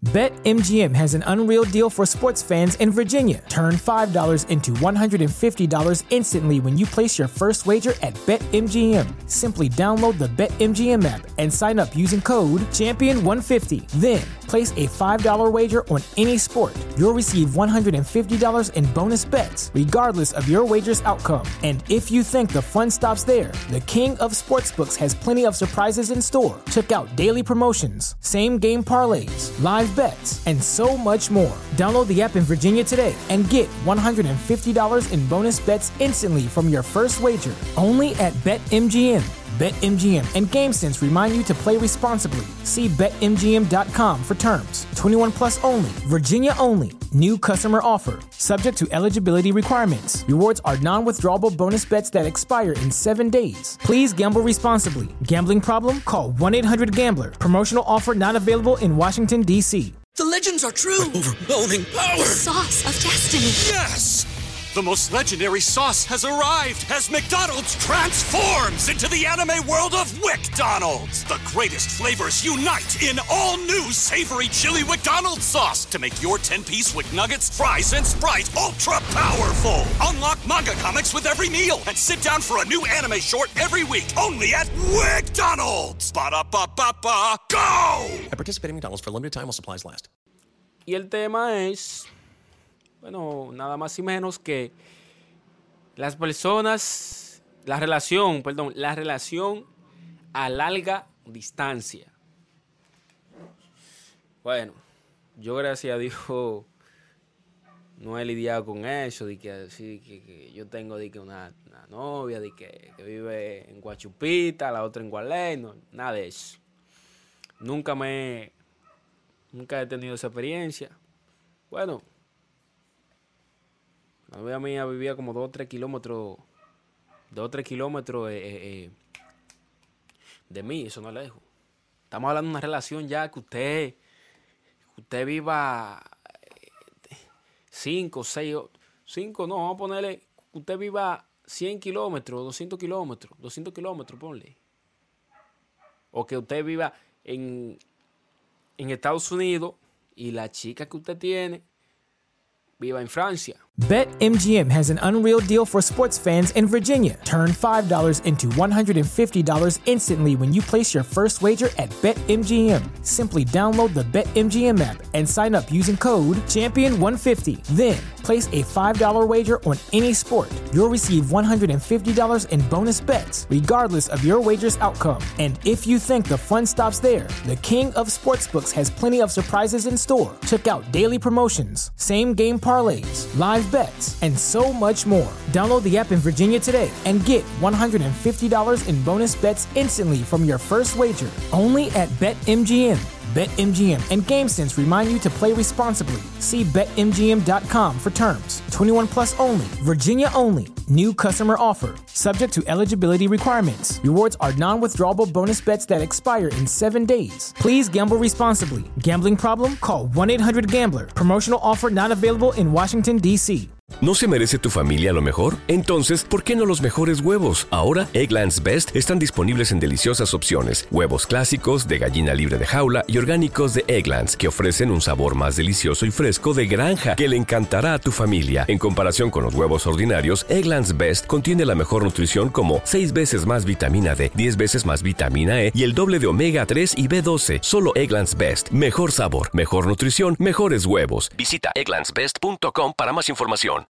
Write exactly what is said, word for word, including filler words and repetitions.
BetMGM has an unreal deal for sports fans in Virginia. Turn five dollars into one hundred fifty dollars instantly when you place your first wager at BetMGM. Simply download the BetMGM app and sign up using code champion one fifty. Then, place a five dollars wager on any sport. You'll receive one hundred fifty dollars in bonus bets, regardless of your wager's outcome. And if you think the fun stops there, the King of Sportsbooks has plenty of surprises in store. Check out daily promotions, same-game parlays, live bets, and so much more. Download the app in Virginia today and get one hundred fifty dollars in bonus bets instantly from your first wager. Only at BetMGM. BetMGM and GameSense remind you to play responsibly. See Bet M G M dot com for terms. twenty-one plus only. Virginia only. New customer offer. Subject to eligibility requirements. Rewards are non-withdrawable bonus bets that expire in seven days. Please gamble responsibly. Gambling problem? Call one eight hundred gambler. Promotional offer not available in Washington, D C The legends are true. Overwhelming power! The sauce of destiny. Yes! The most legendary sauce has arrived as McDonald's transforms into the anime world of WickDonald's. The greatest flavors unite in all new savory chili McDonald's sauce to make your ten-piece Wick Nuggets, fries, and Sprite ultra-powerful. Unlock manga comics with every meal and sit down for a new anime short every week only at WickDonald's. Ba-da-ba-ba-ba, go! I participate in McDonald's for a limited time while supplies last. Y el tema es... Bueno, nada más y menos que las personas, la relación, perdón, la relación a larga distancia. Bueno, yo gracias a Dios no he lidiado con eso, de que, así, que, que yo tengo de que una, una novia de que, que vive en Guachupita, la otra en Gualey, no, nada de eso. Nunca me, nunca he tenido esa experiencia. Bueno, la novia mía vivía como dos o tres kilómetros, dos o tres kilómetros eh, eh, de mí, eso no es lejos. Estamos hablando de una relación ya que usted, que usted viva cinco, seis, cinco, no, vamos a ponerle, que usted viva cien kilómetros, doscientos kilómetros, doscientos kilómetros, ponle. O que usted viva en, en Estados Unidos y la chica que usted tiene viva en Francia. BetMGM has an unreal deal for sports fans in Virginia. Turn five dollars into one hundred fifty dollars instantly when you place your first wager at BetMGM. Simply download the BetMGM app and sign up using code champion one fifty. Then, place a five dollars wager on any sport. You'll receive one hundred fifty dollars in bonus bets, regardless of your wager's outcome. And if you think the fun stops there, the King of Sportsbooks has plenty of surprises in store. Check out daily promotions, same-game parlays, live bets, and so much more. Download the app in Virginia today and get one hundred fifty dollars in bonus bets instantly from your first wager. Only at BetMGM. BetMGM and GameSense remind you to play responsibly. See Bet M G M dot com for terms. twenty-one plus only. Virginia only. New customer offer. Subject to eligibility requirements. Rewards are non-withdrawable bonus bets that expire in seven days. Please gamble responsibly. Gambling problem? Call one eight hundred gambler. Promotional offer not available in Washington, D C ¿No se merece tu familia lo mejor? Entonces, ¿por qué no los mejores huevos? Ahora, Eggland's Best están disponibles en deliciosas opciones. Huevos clásicos, de gallina libre de jaula y orgánicos de Eggland's, que ofrecen un sabor más delicioso y fresco de granja que le encantará a tu familia. En comparación con los huevos ordinarios, Eggland's Best contiene la mejor nutrición como seis veces más vitamina D, diez veces más vitamina E y el doble de omega tres y B doce. Solo Eggland's Best. Mejor sabor, mejor nutrición, mejores huevos. Visita egglands best punto com para más información.